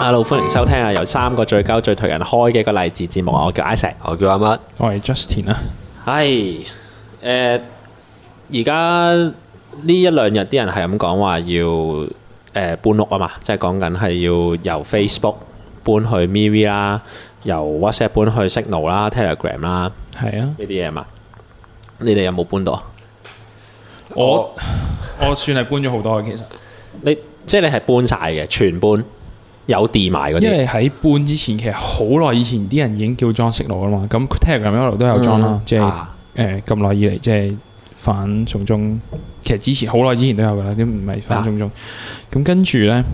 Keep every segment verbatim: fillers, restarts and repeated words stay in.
Hello， 歡迎收聽啊！由三個最鳩最頹人開嘅一個勵志節目啊！我叫 Isaac， 我叫阿乜， 我係 Justin 啊。 係誒，而家呢一兩日啲人係咁講話要誒、呃、搬屋啊嘛，即係講緊係要由 Facebook 搬去 MeWe 啦，由 WhatsApp 搬去 Signal 啦、Telegram 啦， 係啊， 呢啲嘢嘛。你哋有冇搬到啊？ 我我算係搬咗好多嘅，其實你即係你係搬晒嘅，全搬。有電埋嗰啲， 因為喺搬之前，其實好耐以前啲人已經叫裝 Signal 啦嘛。咁 Telegram 一路都有裝啦，即係誒咁耐以嚟，即係反送中。其實之前好耐之前都有噶啦，啲唔係反送中。咁、啊、跟住咧，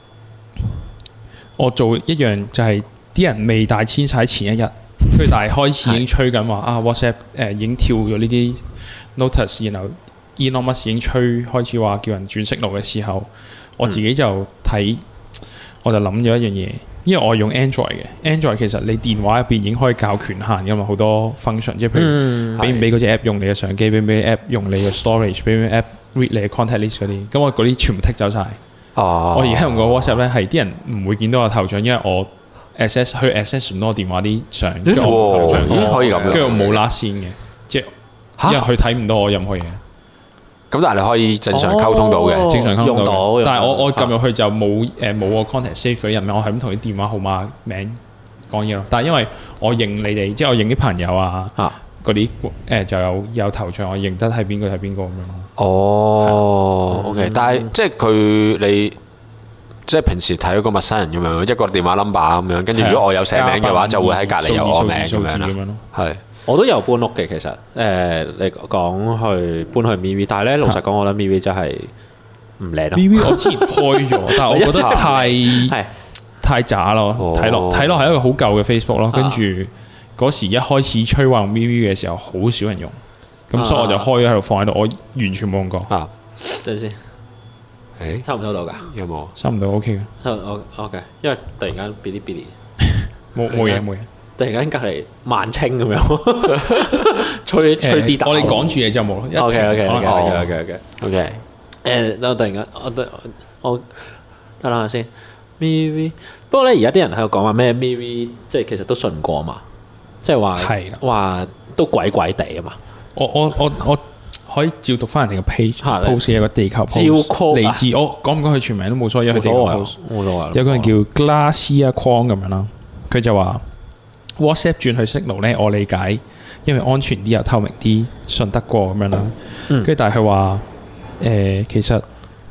我做一樣就係、是、啲人未大遷晒前一日，佢但係開始已經吹緊話啊 WhatsApp 誒、呃、已經跳咗呢啲 notice，然後 Elon Musk 已經吹開始話叫人轉 Signal嘅時候，我自己就睇。嗯我就諗咗一樣嘢，因為我用 Android 嘅 Android 其實你電話入邊已經可以較權限噶嘛，好多 function， 即係譬如俾唔俾嗰隻 app 用你嘅相機，俾唔俾 app 用你嘅 storage， 俾唔俾 app read 你嘅 contact list 嗰啲，咁我嗰啲全部剔走晒。哦，我而家用個 WhatsApp 咧，係啲人唔會見到我頭像，因為我 access 去 access 唔到我電話啲相，跟住我頭像， 咦可以咁樣， 跟住我冇拉線嘅，即係因為佢睇唔到我任何嘢。 咁但係你可以正常溝通到嘅， 哦、 正常溝通到， 到但係我我撳入去就冇誒冇個 contact save 嗰啲人名，我係咁同啲電話號碼名講嘢咯。但係因為我認你哋，即係我認啲朋友啊，嗰啲誒就有有頭像，我認得係邊個係邊個咁樣咯。 哦 ，OK，但係即係佢你即係平時睇嗰個陌生人咁樣，一個電話 number 咁樣，跟住如果我有寫名嘅話，就會喺隔離有我名咁樣啦。係。 我都有搬屋嘅，其實誒、呃，你講去搬去 MeWe， 但係咧老實講，我覺得 MeWe 真係唔靚咯。 MeWe 我之前開咗，但係我覺得太係太渣咯，睇落睇落係一個好舊嘅 Facebook 咯。跟住嗰時一開始吹話用 MeWe 嘅時候，好少人用，咁、啊、所以我就開咗喺度放喺度，我完全冇用過。 啊，等陣先，誒、欸，收唔收到㗎？ 有冇？ 收唔到 OK 嘅。 收我 OK，因為突然間嗶哩嗶哩，冇冇嘢冇嘢。 突然間隔離萬青咁樣，吹吹啲大。 我哋講住嘢就冇咯。 OK OK OK OK OK OK。 誒，我突然間，我我得啦先。MeWe， 不過咧，而家啲人喺度講話咩 MeWe， 即係其實都信唔過嘛，即係話話都鬼鬼地啊嘛。 我我我我可以照讀翻人哋嘅 page，post 有個地球 post，嚟自我講唔講佢全名都冇所謂，因為佢地球 post。冇所謂。有個人叫 Glacia Kwong 咁樣啦，佢就話。WhatsApp 轉去 Signal 咧，我理解，因為安全啲又透明啲，信得過咁樣啦。跟住、嗯、但係佢話誒，其實誒、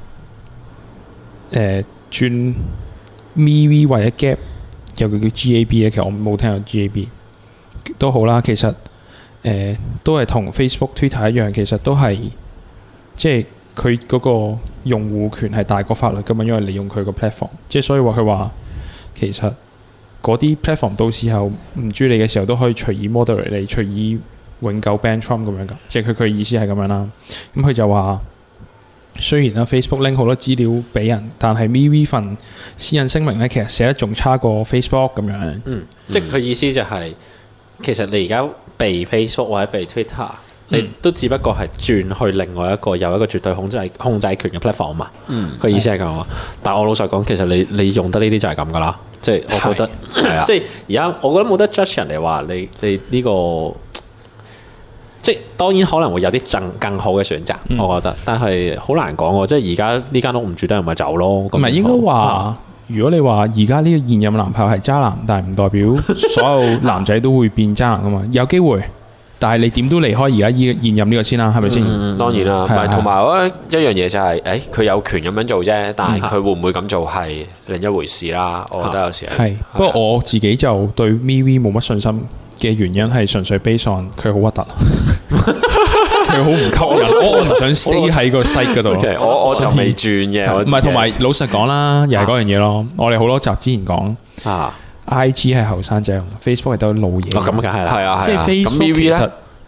呃、轉 MeWe 或者 Gap 有個叫 G A B 咧，其實我冇聽過 G A B 都好啦。其實誒、呃、都係同 Facebook、Twitter 一樣，其實都係即係佢嗰個用戶權係大過法律噶嘛，因為你用佢個 platform， 即係所以話佢話其實。嗰啲 platform 到時候唔中意你嘅時候都可以隨意 moderate 你，隨意永久 ban Trump 咁樣噶，即係佢佢意思係咁樣啦。咁佢就話，雖然啦 Facebook 拎好多資料俾人，但係 MeWe 份私隱聲明咧，其實寫得仲差過 Facebook 咁樣。嗯， 即係佢意思就係、是，其實你而家被 Facebook 或者被 Twitter，、嗯、你都只不過係轉去另外一個有一個絕對控制控制權嘅 platform 嘛。嗯，佢意思係咁啊。嗯、但係我老實講，其實你你用得呢啲就係咁噶啦。即係我覺得，即係而家我覺得冇得 judge 人哋話你你呢、這個，即係當然可能會有啲更更好嘅選擇，嗯、我覺得，但係好難講喎。即係而家呢間屋唔住得，人咪走咯。唔係應該話，嗯、如果你話而家呢個現任男朋友係渣男，但係唔代表所有男仔都會變渣男噶嘛，有機會。但係你點都離開而家依現任呢個先啦，係咪先？ 嗯、當然啦，唔係同埋我覺得一樣嘢就係、是，誒佢有權咁樣做啫，但係佢會唔會咁做係另一回事啦。我覺得有時係。係，不過我自己就對 MeWe 冇乜信心嘅原因係純粹 based on 佢好核突，佢好唔吸引，我我唔想 stay 喺個 site 嗰度。 Okay, 我我就未轉嘅， 唔係同埋老實講啦，又係嗰樣嘢咯。我哋好多集之前講啊。I G 係後生仔用 ，Facebook 係都老嘢。 哦，咁梗係啦， 係啊， 即係 Facebook 其實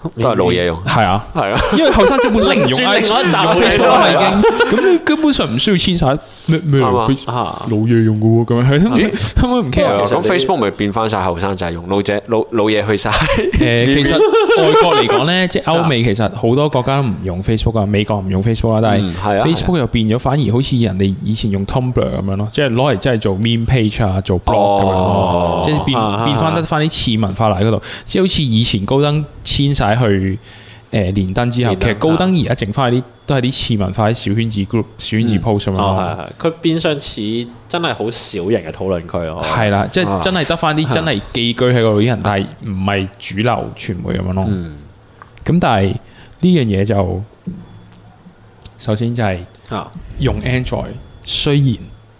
都係老嘢用。 係啊， 係啊， 因為後生仔本身唔用 I G 唔用 Facebook 啦已經，咁你根本上唔需要遷晒咩咩老嘢用嘅喎，咁樣係咯，咦根本唔 care。 咁 Facebook 咪變翻晒後生仔用，老者老老嘢去晒。 誒，其實外國嚟講咧，即係歐美其實好多國家都唔用 Facebook 啊，美國唔用 Facebook 啦，但係 Facebook 又變咗，反而好似人哋以前用 Tumblr 咁樣咯，即係攞嚟真係做 meme page 啊，做 blog 咁樣咯，即係變變翻得翻啲次文化嚟嗰度，即係好似以前高登遷晒去誒連登之後，其實高登而家剩翻啲都係啲次文化啲小圈子 group、小圈子 post 咁樣咯。 佢變相似真係好小型嘅討論區咯。 係啦，即係真係得翻啲真係寄居喺嗰度啲人，但係唔係主流傳媒咁樣咯。咁但係呢樣嘢就首先就係用 Android，雖然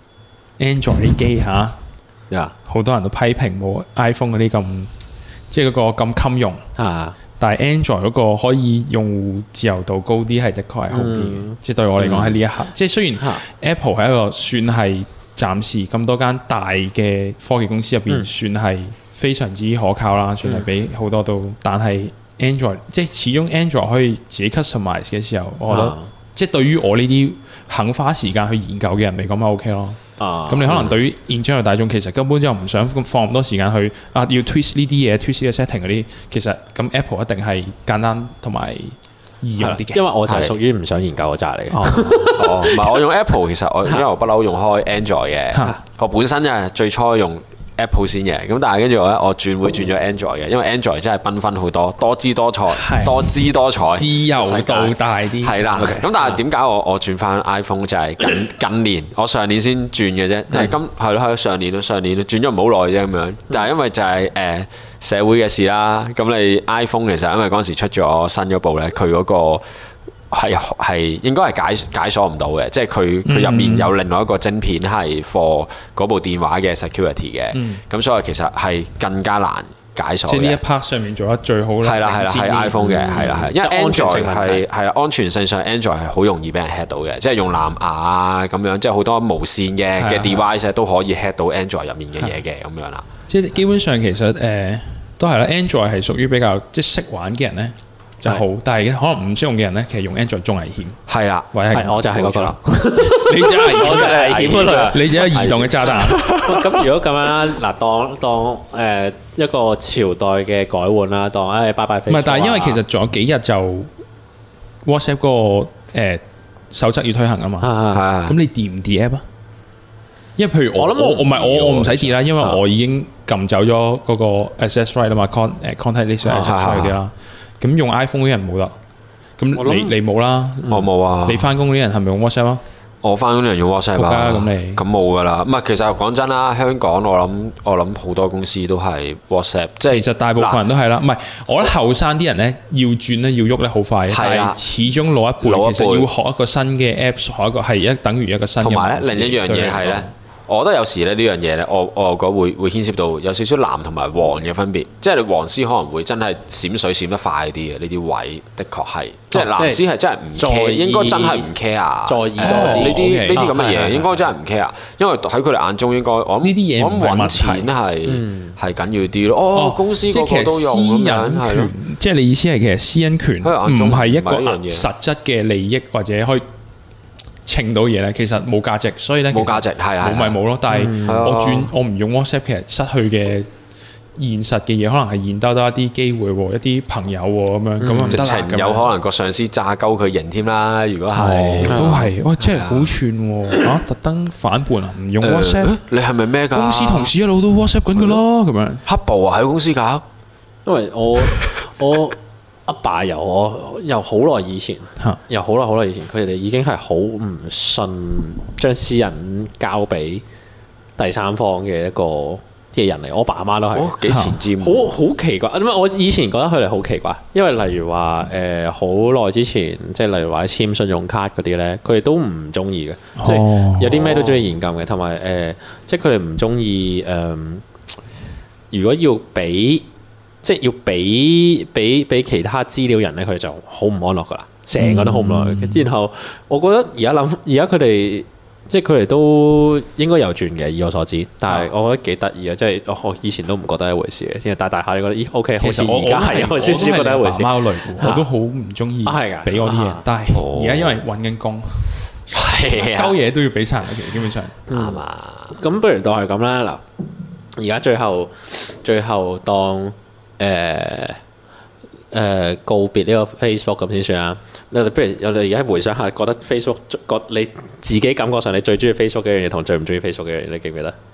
Android 啲機嚇，好多人都批評冇 iPhone 嗰啲咁。即係嗰個咁襟用，啊、但係 Android 嗰個可以用戶自由度高啲，係的確係好啲嘅。嗯、即係對我嚟講喺呢一刻，嗯、即係雖然 Apple 係一個算係暫時咁多間大嘅科技公司入邊，嗯、算係非常之可靠啦，算係比好多都。嗯、但係 Android 即係始終 Android 可以自己 customize 嘅時候，我覺得、啊、即係對於我呢啲肯花時間去研究嘅人嚟講，咪 OK 咯。咁、啊、你可能對於現將嘅大眾，其實根本就唔想放咁多時間去啊，要 twist 呢啲嘢 twist 呢個 setting 嗰啲，其實咁 Apple 一定係簡單同埋易用啲嘅。 因為我就係屬於唔想研究嗰扎嚟嘅。 哦，唔係我用 Apple， 其實我因為我不嬲用開 Android 嘅，我本身啊最初用 Apple 先嘅，咁但係跟住我咧，我轉會轉咗 Android 嘅，因為 Android 真係繽紛好多，多姿多彩，多姿多彩， 自由度大啲。 係啦，咁但係點解我我轉翻 iPhone 就係近近年，我上年先轉嘅啫，係今係咯係咯上年咯上年轉咗唔好耐啫咁樣，但係因為就係誒社會嘅事啦，咁你 iPhone 其實因為嗰陣時出咗新嗰部咧，佢嗰個。係係應該係解解鎖唔到嘅，即係佢佢入面有另外一個晶片係 for 嗰部電話嘅 security 嘅，咁、嗯、所以其實係更加難解鎖嘅。即係呢一 part 上面做得最好啦。係啦係啦，係 iPhone 嘅係啦係，因為 Android 係係安全性上 Android 係好容易俾人 hack 到嘅，即係用藍牙啊咁樣，即係好多無線嘅嘅 device 都可以 hack 到 Android 入面嘅嘢嘅咁樣啦。即係基本上其實誒、呃、都係啦 ，Android 係屬於比較即係識玩嘅人咧。就好，但係可能唔識用嘅人咧，其實用 Android 仲危險。 係啦， 或者係我就係嗰個啦。 你就係我就係危險嗰類，你就係移動嘅炸彈。 咁如果咁樣啦，嗱，當當誒一個朝代嘅改換啦，當誒拜拜 Facebook。唔係， 但係因為其實仲有幾日就 WhatsApp 嗰個誒守則要推行啊嘛。係係。咁你 delete 唔 delete app 啊？因為譬如我諗我我唔係我我唔使 delete啦，因為我已經撳走咗嗰個 access right 啦嘛 ，con 誒 contact list access right 嗰啲啦。咁用 iPhone 嗰啲人冇得，咁你你冇啦， 我冇啊。 你翻工嗰啲人係咪用 WhatsApp 啊？ 我翻工啲人用 WhatsApp 啊，咁你咁冇噶啦。唔係，其實講真啦，香港我諗我諗好多公司都係 WhatsApp，即係其實大部分人都係啦。唔係，我覺得後生啲人咧要轉咧要喐咧好快，但係始終老一輩其實要學一個新嘅 Apps，學一個係一等於一個新嘅。 同埋咧另一樣嘢係咧。我覺得有時咧呢樣嘢咧，我我覺得會會牽涉到有少少藍同埋黃嘅分別，即係你黃絲可能會真係閃水閃得快啲嘅呢啲位，的確係，即係藍絲係真係唔 care，應該真係唔 care， 在意多啲呢啲呢啲咁嘅嘢，應該真係唔 care，因為喺佢哋眼中應該我諗呢啲嘢我諗揾錢係係緊要啲咯。哦，公司個個都用咁樣係咯， 即係你意思係其實私隱權唔係一個實質嘅利益或者可以稱到嘢咧，其實冇價值，所以咧冇價值係啊， 冇咪冇咯。但係我轉我唔用 WhatsApp，其實失去嘅現實嘅嘢，可能係現兜兜一啲機會喎，一啲朋友喎咁樣咁直情有可能個上司炸鳩佢型添啦。如果係都係，哇！真係好串喎嚇，特登反叛啊，唔用 WhatsApp。 你係咪咩㗎？ 公司同事一路都 WhatsApp 緊㗎咯，咁樣黑暴啊喺公司搞。 因為我我。阿爸由我由好耐以前，由好耐好耐以前，佢哋已經係好唔信將私隱交俾第三方嘅一個嘅人嚟。我爸阿媽都係幾前瞻， 好好奇怪。因為我以前覺得佢哋好奇怪，因為例如話誒好耐之前，即係例如話簽信用卡嗰啲咧，佢哋都唔中意嘅，哦、即係有啲咩都中意現金嘅，同埋誒，即係佢哋唔中意誒，如果要俾。即係要俾俾俾其他資料人咧，佢哋就好唔安樂噶啦，成個都好唔安樂。嗯、然後我覺得而家諗，而家佢哋即係佢哋都應該有轉嘅，以我所知。但係我覺得幾得意啊！即係我以前都唔覺得一回事嘅，之後大大下你覺得咦 OK，好似而家係有少少覺得一回事。 貓類我都好唔中意俾我啲嘢，但係而家因為揾緊工，係啊，鳩嘢都要俾晒，其實基本上啱嘛。咁不如當係咁啦。嗱，而家最後最後當誒。誒、呃、告別呢個 Facebook 咁先算啊！你哋不如我哋而家回想下，覺得 Facebook 覺你自己感覺上你最中意 Facebook 嘅樣嘢同最唔中意 Facebook 嘅樣嘢，你記唔記得？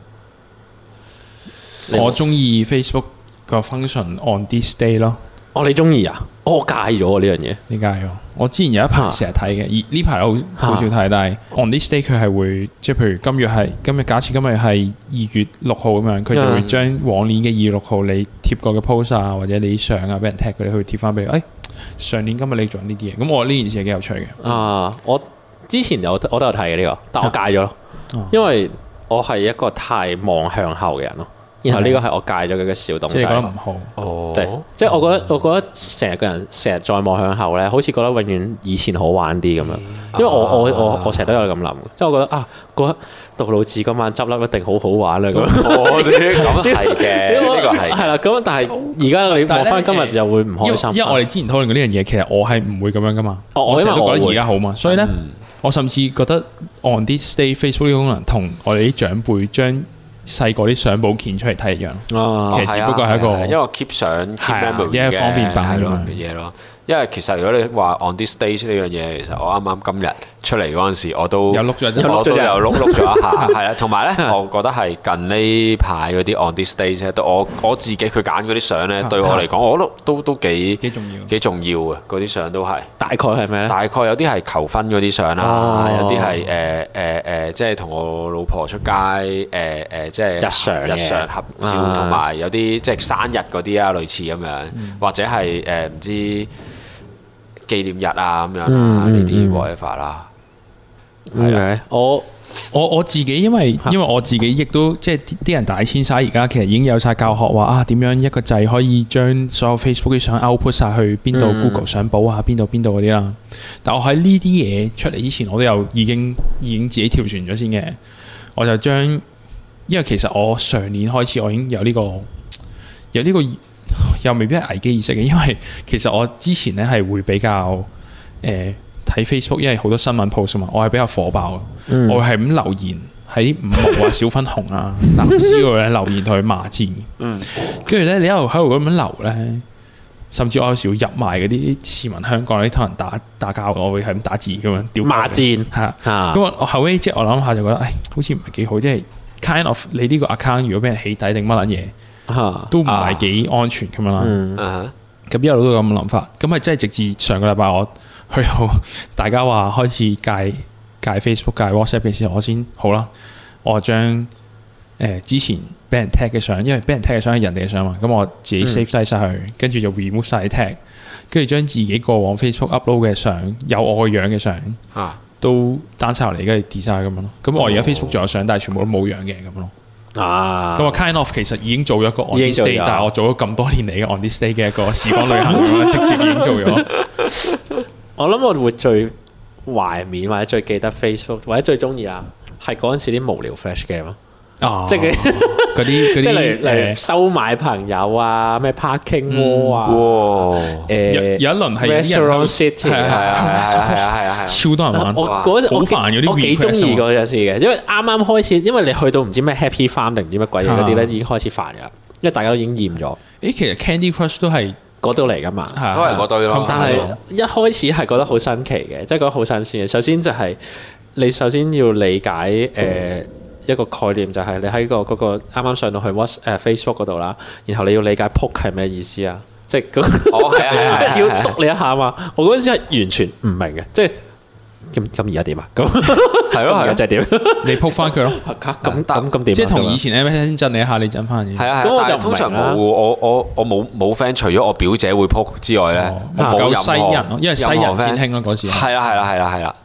我中意 Facebook 個 function on this day 咯。 哦，你中意啊？哦、我戒咗呢樣嘢。 你戒咗？我之前有一排成日睇嘅，而呢排好好少睇。但係 on this day 佢係會即係譬如今日係今日，假設今日係二月六號咁樣，佢就會將往年嘅二月六號你貼過嘅 post 啊，或者你相啊，俾人 tag 佢哋去貼翻俾你。誒、哎，上年今日你做呢啲嘢，咁我呢件事係幾有趣嘅。 啊，我之前有我都有睇嘅呢個，但我戒咗咯，啊、因為我係一個太望向後嘅人咯。然後呢個係我戒咗佢嘅小動作。即係覺得唔好。哦。即係我覺得，我覺得成日個人成日再望向後咧，好似覺得永遠以前好玩啲咁樣。因為我我我我成日都有咁諗，即係我覺得啊，覺得杜老誌今晚執笠一定好好玩啦咁。哦，咁係嘅，呢個係。係啦，咁但係而家你望翻今日就會唔開心。 因為我哋之前討論過呢樣嘢，其實我係唔會咁樣噶嘛。我成日都覺得而家好嘛，所以咧，我甚至覺得 on this day Facebook 呢個功能同我哋啲長輩將細個啲相簿鉛出嚟睇一樣， 哦、 其實只不過係一個， 因為 keep 相 keep memory 嘅方便版嘅嘢咯。因為其實如果你話 on this stage 呢樣嘢，其實我啱啱今日出嚟嗰陣時，我都有碌咗， 我都有碌碌咗一下，係啦。同埋咧，我覺得係近呢排嗰啲 on this stage 咧，我我自己佢揀嗰啲相咧，對我嚟講，我都都都幾幾重要， 幾重要嘅嗰啲相都係。 大概係咩咧？ 大概有啲係求婚嗰啲相啦，有啲係誒誒誒，即係同我老婆出街誒誒，即係日常日常合照，同埋有啲即係生日嗰啲啊，類似咁樣，或者係誒唔知紀念日啊咁樣啊，呢啲 whatever 啦。 係啊，我我我自己因為因為我自己亦都即係啲人大遷徙，而家其實已經有晒教學話啊，點樣一個掣可以將所有 Facebook 啲相 output 晒去邊度 Google 相簿啊，邊度邊度嗰啲啦。但我喺呢啲嘢出嚟之前，我都有已經已經自己跳船咗先嘅。我就將因為其實我上年開始我已經有呢個有呢個又未必係危機意識嘅，因為其實我之前咧係會比較誒睇 Facebook，因為好多新聞 post 嘛，我係比較火爆嘅，嗯、我係咁留言喺五毛啊、小粉紅啊、藍絲嗰度咧留言同佢罵戰，跟住咧你一路喺度咁樣留咧，甚至我有時會入埋嗰啲市民香港啲同人打打交，我會係咁打字咁樣屌罵戰， 係啦，咁我我後尾即係我諗下就覺得，誒好似唔係幾好，即係 kind of 你呢個 account 如果俾人起底定乜撚嘢？都唔係幾安全咁樣啦，咁、嗯啊、一路都有咁嘅諗法，咁係真係直至上個禮拜我去到大家話開始戒戒 Facebook 戒 WhatsApp 嘅時候，我先好啦，我將誒、呃、之前俾人 tag 嘅相，因為俾人 tag 嘅相係人哋嘅相嘛，咁我自己 save 低晒佢，跟住、嗯、就 remove 晒 tag， 跟住將自己過往 Facebook upload 嘅相，有我個樣嘅相，啊、都 down 晒落嚟，跟住 delete 晒咁樣咯。咁我而家 Facebook 仲有相，但係全部都冇樣嘅咁樣咯。啊！咁我 kind of 其實已經做咗一個 on this day，但係我做咗咁多年嚟嘅 on this day 嘅一個時光旅行咁樣，直接已經做咗。 我諗我會最懷緬或者最記得 Facebook 或者最中意啊，係嗰陣時啲無聊 flash game 咯。啊！即係嗰啲嗰啲， 即係例如例如收買朋友啊，咩 parking wall 啊，誒有有一輪係 restaurant city， 係啊係啊係啊係啊， 超多人玩。 我嗰陣好煩嗰啲， 我幾中意嗰陣時嘅，因為啱啱開始，因為你去到唔知咩 Happy Farm 定唔知乜鬼嘢嗰啲咧，已經開始煩噶啦，因為大家都已經厭咗。 誒，其實 Candy Crush 都係嗰度嚟噶嘛， 都係嗰堆咯。 但係一開始係覺得好新奇嘅，即係覺得好新鮮嘅。首先就係你首先要理解誒。一個概念就係你喺個嗰個啱啱上到去 Whats 誒 Facebook 嗰度啦，然後你要理解 poke 係咩意思啊？即係嗰哦係啊係啊， 要督你一下啊嘛！我嗰陣時係完全唔明嘅，即係咁咁而家點啊？咁係咯係咯， 就係點？ 你 poke 翻佢咯， 咁咁咁點？ 即係同以前 M S N 震你一下，你震翻嘅。 係啊係啊，但係通常冇我我我冇冇 friend，除咗我表姐會 poke 之外咧，冇西人咯，因為西人先興咯嗰時。 係啦係啦係啦係啦。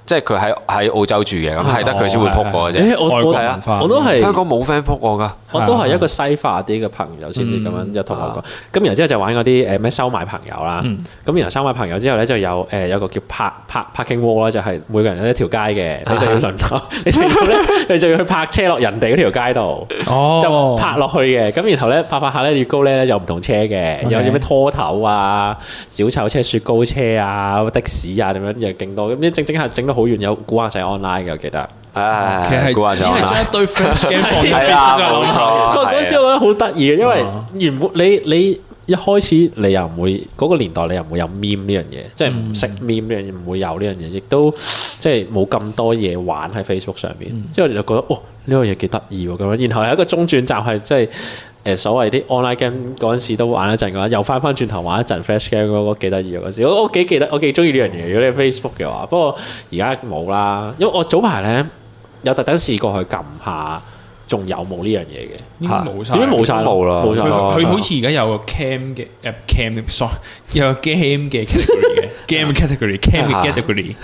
即係佢喺喺澳洲住嘅，咁係得佢先會撲我嘅啫。 我我係啊，我都係香港冇 friend 撲我㗎。 我都係一個西化啲嘅朋友先至咁樣有同我講。咁然後之後就玩嗰啲誒咩收買朋友啦。咁然後收買朋友之後咧就有誒有個叫拍拍 parking wall 啦，就係每個人有一條街嘅，你就要輪流，你就要咧，你就要去泊車落人哋嗰條街度，就泊落去嘅。咁然後咧泊泊下咧越高咧有唔同車嘅，有啲咩拖頭啊、小丑車、雪糕車啊、的士啊，咁樣又勁多。咁啲整整下整到好遠，有古惑仔 online 嘅，我記得。 係其實係只係將一堆 Flash game 放喺 Facebook 度。不過嗰時我覺得好得意嘅，因為原本你你一開始你又唔會嗰個年代，你又唔會有 meme 呢樣嘢，即係唔識 meme 呢樣嘢，唔會有呢樣嘢，亦都即係冇咁多嘢玩喺 Facebook 上邊。之後我就覺得哦，呢個嘢幾得意喎咁樣。然後有一個中轉站係即係。誒所謂啲 online game 嗰陣時都玩一陣嘅話，又翻翻轉頭玩一陣 Flash game 嗰個幾得意嗰陣時，我我幾記得，我幾中意呢樣嘢。如果你 Facebook 嘅話，不過而家冇啦，因為我早排咧有特登試過去撳下，仲有冇呢樣嘢嘅？ 應該冇曬， 點解冇曬冇啦？ 佢佢好似而家有個 cam 嘅誒 cam，sorry 有個 game 嘅 category 嘅 game category，cam 嘅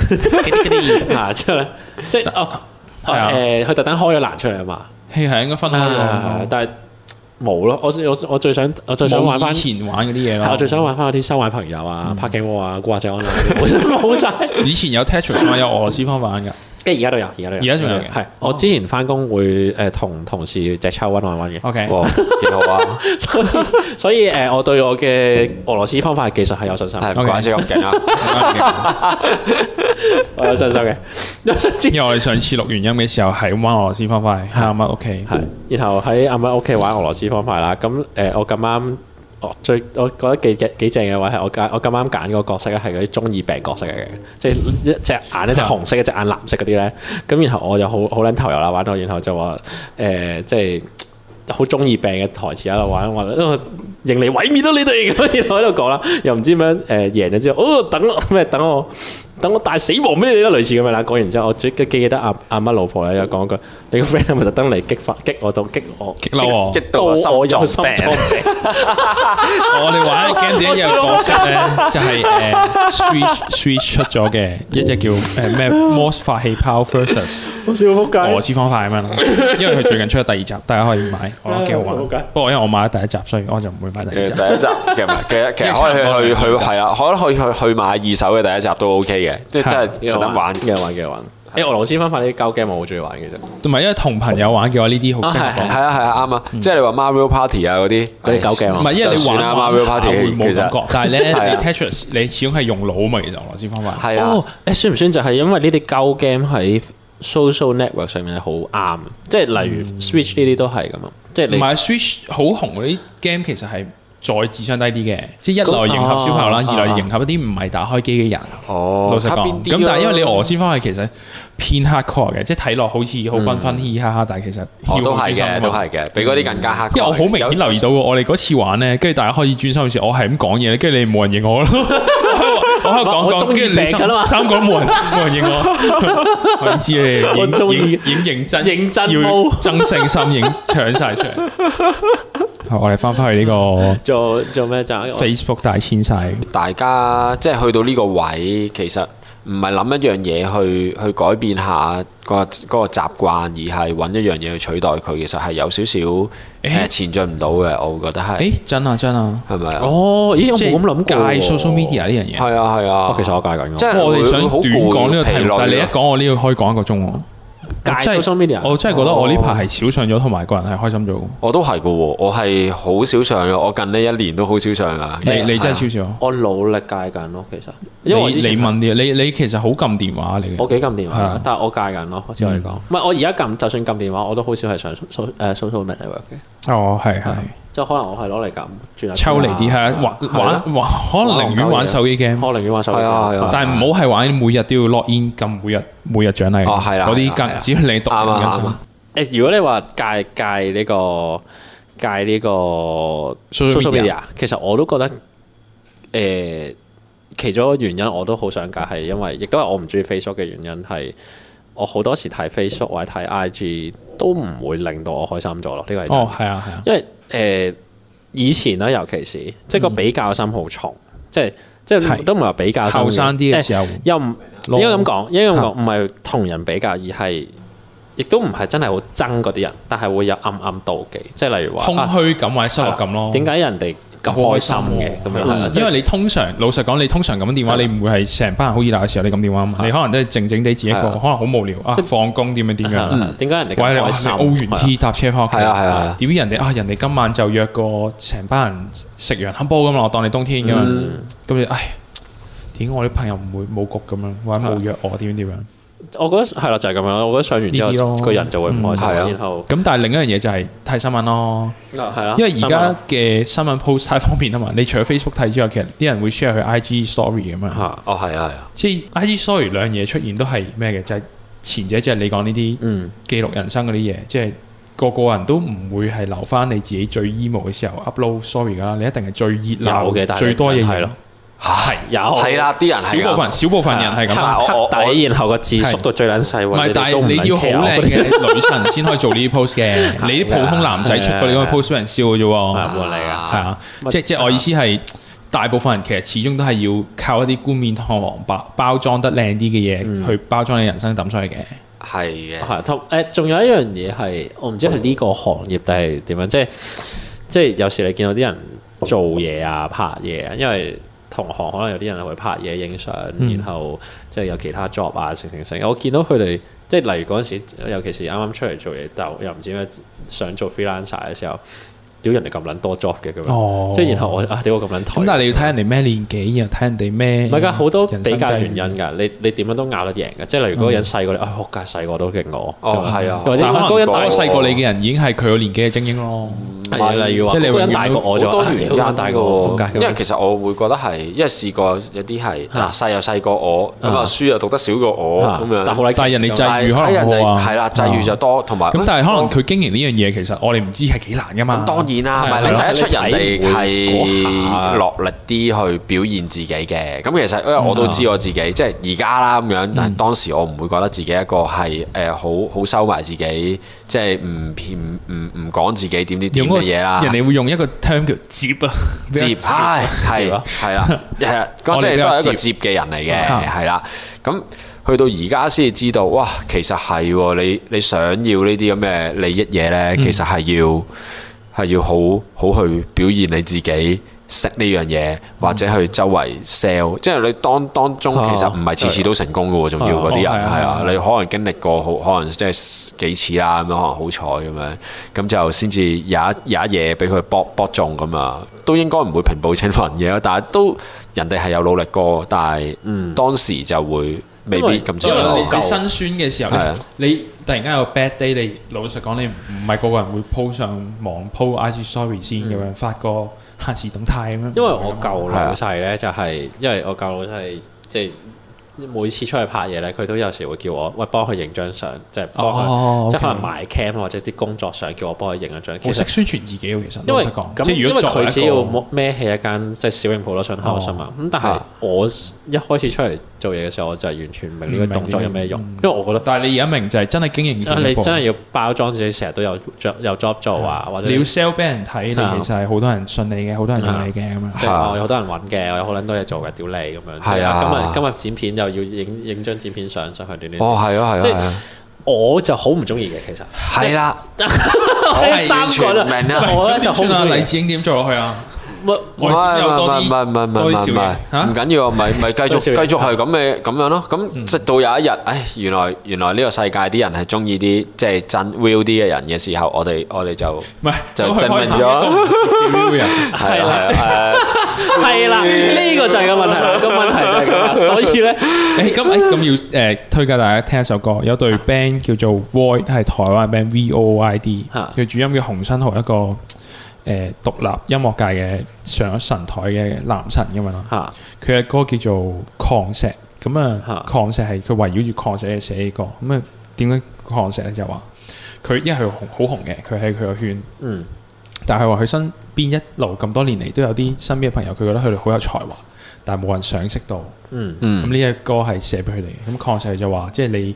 category， 嚇之後咧，即係哦誒，佢特登開咗欄出嚟啊嘛， 係係應該分開咗， 但係。冇咯，我我我最想我最想玩翻以前玩嗰啲嘢咯。 我最想玩翻嗰啲收買朋友啊、拍景窩啊、古惑仔 online 冇晒。 以前有 Tetris 有俄羅斯方玩㗎。 誒而家都有，而家都有。 而家仲有嘅。 係我之前翻工會誒同同事隻抽溫玩玩嘅。 OK， 幾好啊！ 所以所以誒，我對我嘅俄羅斯方塊技術係有信心。 係唔怪之咁勁啊！ 我有信心嘅。 因為我哋上次錄完音嘅時候係玩俄羅斯方塊喺阿媽屋企， 係然後喺阿媽屋企玩俄羅斯方塊啦。咁誒，我咁啱，我最我覺得幾幾幾正嘅話係我揀我咁啱揀嗰個角色咧係嗰啲中二病角色嚟嘅，即係一隻眼一隻紅色，一隻眼藍色嗰啲咧。咁然後我就好好撚投入啦，玩到然後就話誒，即係好中二病嘅台詞喺度玩，話認嚟毀滅到你哋咁，然後喺度講啦，又唔知點樣誒贏咗之後，哦等我咩等我。等我大死亡俾你哋啦，類似咁樣啦。講完之後，我最記記得阿阿媽老婆咧又講句：你個 friend 係咪特登嚟激發激我到激我激嬲我， 激到我心臟病。 我哋玩 game 點有角色咧，就係誒 Switch Switch 出咗嘅一隻叫誒咩 Morse 發氣泡 versus 好笑撲街俄羅斯方塊咁樣。因為佢最近出咗第二集，大家可以買，我覺得幾好玩。不過因為我買咗第一集，所以我就唔會買第二集。 第一集其實其實其實可以去去去係啦，可能可以去去買二手嘅第一集都 OK 嘅。即係真係值得玩， 幾好玩幾好玩。誒俄羅斯方塊呢啲膠 game 我好中意玩嘅啫。 同埋因為同朋友玩嘅話，呢啲好適合。 係啊係啊啱啊！即係你話 Mario Party 啊嗰啲嗰啲膠 game。 唔係因為你玩 Mario Party 冇感覺，但係咧你 Tetris 你始終係用腦啊嘛，其實俄羅斯方塊。 係啊。 誒算唔算就係因為呢啲膠 game 喺 social network 上面係好啱？即係例如 Switch 呢啲都係咁啊。即係你。唔係 Switch 好紅嗰啲 game 其實係。再智商低啲嘅，即係一來迎合小朋友啦，二來迎合一啲唔係打開機嘅人。 哦， 老實講，咁但係因為你俄羅斯方塊其實偏 hardcore 嘅，即係睇落好似好繽紛嘻嘻哈哈，但係其實都係嘅，都係嘅，比嗰啲更加 hardcore。 因為我好明顯留意到我哋嗰次玩咧，跟住大家開始專心嘅時候，我係咁講嘢咧，跟住你冇人應我咯。我喺度講講，跟住你三個冇人冇人應我。我知你，我中意影認真， 認真要爭勝心，影搶晒出嚟。我哋翻返去呢個做做咩就 Facebook 大遷徙， 大家即係去到呢個位，其實唔係諗一樣嘢去去改變下個嗰個習慣，而係揾一樣嘢去取代佢。其實係有少少誒前進唔到嘅，我會覺得係。 誒真啊真啊， 係咪啊？ 哦，咦我冇咁諗過戒 social media 呢樣嘢。 係啊係啊， 其實我戒緊。 即係我哋想短講呢個題目，但係你一講我呢個可以講一個鐘喎。 戒 social media， 我真係覺得我呢排係少上咗，同埋個人係開心咗。 我都係嘅喎，我係好少上嘅，我近呢一年都好少上噶。 你你真係少少？ 我努力戒緊咯，其實。 因為你問啲，你你其實好撳電話嚟嘅。 我幾撳電話，但係我戒緊咯，我只可以講。唔係我而家撳，就算撳電話，我都好少係上 social 誒 social network 嘅。 哦，係係。 即係可能我係攞嚟撳轉下抽離啲係玩玩玩，可能寧願玩手機 game， 我寧願玩手機 game， 但係唔好係玩每日都要 log in 撳每日每日獎勵。 哦，係啦， 嗰啲更只要你讀啱誒，如果你話戒戒呢個戒呢個 social media，其實我都覺得誒其中一個原因我都好想戒，係因為亦都係我唔中意 Facebook 嘅原因係。我好多時睇 Facebook 或者睇 I G 都唔會令到我開心咗咯，呢個係真。 哦，係啊，係啊。 因為誒、呃、以前咧，尤其是即係個比較心好重，嗯、即係即係都唔係話比較後生啲嘅時候， 又唔應該咁講，應該咁講，唔係同人比較，而係亦都唔係真係好憎嗰啲人，但係會有暗暗妒忌，即係例如話空虛感或者失落感咯。 點解人哋咁開心嘅咁樣？ 因為你通常老實講，你通常咁電話，你唔會係成班人好熱鬧嘅時候你咁電話嘛。你可能都係靜靜地自己一個，可能好無聊啊，放工點樣點樣？ 點解人哋咁開心？ 澳元 T 搭車翻屋企， 係啊係啊。 點知人哋啊？人哋今晚就約個成班人食羊腩煲咁嘛，我當你冬天咁樣。咁你唉，點解我啲朋友唔會冇局咁樣，或者冇約我點樣點樣？ 我覺得係啦，就係咁樣咯。我覺得上完之後，個人就會唔開心。然後咁，但係另一樣嘢就係睇新聞咯。 係啦， 因為而家嘅新聞 post 太方便啊嘛。你除咗 Facebook 睇之外，其實啲人會 share 去 I G story 咁樣。 哦，係啊，係啊。 即係 I G story 兩樣嘢出現都係咩嘅？就係前者即係你講呢啲記錄人生嗰啲嘢，即係個個人都唔會係留翻你自己最 emo 嘅時候 upload story 噶啦。你一定係最熱鬧嘅，最多嘢係咯。 係有係啦，啲人係少部分，少部分人係咁黑底，然後個字縮到最撚細。 唔係，但係你要好靚嘅女神先可以做呢啲 post 嘅。你啲普通男仔出過你嗰個 post 俾人笑嘅啫喎。 冇嚟㗎，係啊，即即我意思係，大部分人其實始終都係要靠一啲冠冕堂皇包包裝得靚啲嘅嘢去包裝你人生抌出去嘅。 係嘅， 係同誒，仲有一樣嘢係，我唔知係呢個行業定係點樣，即係即係有時你見到啲人做嘢啊、拍嘢啊，因為同行可能有啲人會拍嘢、影相，嗯、然後即係有其他 job 啊，成成成。我見到佢哋即係例如嗰陣時，尤其是啱啱出嚟做嘢，但又唔知咩想做 freelancer 嘅時候，屌人哋咁撚多 job 嘅咁樣，哦、即係然後我啊屌我咁撚頹。咁但係你要睇人哋咩年紀，然後睇人哋咩？ 唔係㗎，好多比較原因㗎。你你點樣都拗得贏嘅。即係例如嗰個人細過你，啊學界細個都勁我。 哦，係啊。 或者嗰個人大細過你嘅人已經係佢個年紀嘅精英咯。 係例如話，即係你個人大過我咗，好多大過我。 因為其實我會覺得係，因為試過有啲係嗱細又細過我，咁啊書又讀得少過我咁樣。 但係人哋際遇可能多啊。 係啦，際遇就多，同埋咁但係可能佢經營呢樣嘢，其實我哋唔知係幾難㗎嘛。 當然啦，唔係你睇得出人哋係落力啲去表現自己嘅。咁其實因為我都知我自己，即係而家啦咁樣，但係當時我唔會覺得自己一個係誒好好收埋自己，即係唔唔唔唔講自己點點點嘅嘢啦。 人哋會用一個 term 叫接啊， 接係係係啦，係啊，咁即係都係一個接嘅人嚟嘅，係啦。咁去到而家先至知道，哇，其實係喎，你你想要呢啲咁嘅利益嘢咧，其實係要。係要好好去表現你自己識呢樣嘢，或者去周圍 sell，即係你當當中其實唔係次次都成功嘅喎，仲要嗰啲人係啊，你可能經歷過好可能即係幾次啦，咁樣可能好彩咁樣，咁就先至有一有一嘢俾佢搏搏中咁啊，都應該唔會平步青雲嘅，但係都人哋係有努力過，但係當時就會未必咁做。 因為你辛酸嘅時候咧，你突然間有 bad day，你老實講，你唔係個個人會 po 上網 po I G story 先咁樣發個限時動態咁樣。因為我舊老細咧就係，因為我舊老細即係每次出去拍嘢咧，佢都有時會叫我喂幫佢影張相，即係幫佢，即係可能買 cam 或者啲工作相，叫我幫佢影一張。 我識宣傳自己喎，其實。 因為咁， 因為佢只要孭起一間即係小型鋪頭出口啫嘛。咁但係我一開始出嚟做嘢嘅時候，我就係完全唔明呢個動作有咩用，因為我覺得。 但係你而家明就係真係經營。 你真係要包裝自己，成日都有有 job 做啊，或者你要 sell 俾人睇，你其實係好多人信你嘅，好多人用你嘅咁樣。 即係有好多人揾嘅，我有好撚多嘢做嘅，屌你咁樣。係啊。今日今日剪片又要影影張剪片相上去短短。 哦，係啊，係啊。 即係我就好唔中意嘅，其實。係啦。我三個啦，我咧就好唔中意。 黎智英點做落去啊？ 唔係唔係唔係唔係唔係唔係唔緊要啊！咪咪繼續繼續係咁嘅咁樣咯。咁直到有一日，唉，原來原來呢個世界啲人係中意啲即係真 real 啲嘅人嘅時候，我哋我哋就唔係就證明咗 ，real 人係啦係啦，呢個就係個問題。個問題就係咁，所以咧， 誒咁誒咁要誒推介大家聽一首歌，有隊 band 叫做 Void，係台灣 band V O I D，佢主音叫洪新豪，一個。誒獨立音樂界嘅上咗神台嘅男神咁樣咯，佢嘅歌叫做《礦石》，咁啊礦石係佢圍繞住礦石嚟寫嘅歌，咁啊點解礦石咧就話佢因為佢好紅嘅，佢喺佢個圈，嗯，但係話佢身邊一路咁多年嚟都有啲身邊嘅朋友，佢覺得佢哋好有才華，但係冇人賞識到，嗯嗯，咁呢一歌係寫俾佢哋嘅，咁礦石就話即係你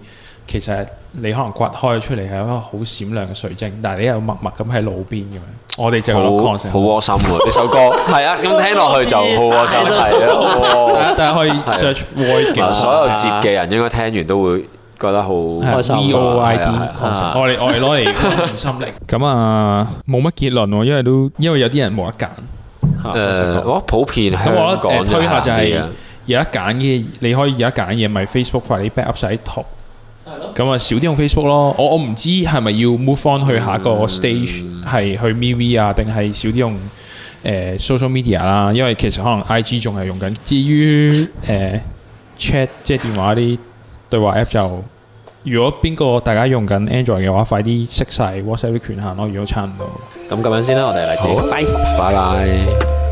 其實你可能刮開出嚟係一個好閃亮嘅水晶，但係你又默默咁喺路邊咁樣。我哋就有個 concept 好窩心喎呢首歌。係啊，咁聽落去就好窩心，係啊。大家可以 search void 嘅， 所有接嘅人應該聽完都會覺得好開心。 V O I D concept，我哋我哋攞嚟換心力。咁啊，冇乜結論喎，因為都因為有啲人冇得揀。 誒，我普遍香港誒推下就係有得揀嘅，你可以有得揀嘢，咪 Facebook 快啲 backup 晒啲圖。咁啊，少啲用 Facebook 咯。我我唔知係咪要 move on 去下一個 stage，係、嗯、去 M V 啊，定係少啲用誒、呃、social media 啦。因為其實可能 I G 仲係用緊。至於誒、呃、chat 即係電話啲對話 app 就，如果邊個大家用緊 Android 嘅話，快啲熄晒 WhatsApp 啲權限咯。如果差唔多， 咁咁樣先啦，我哋嚟自，拜拜拜。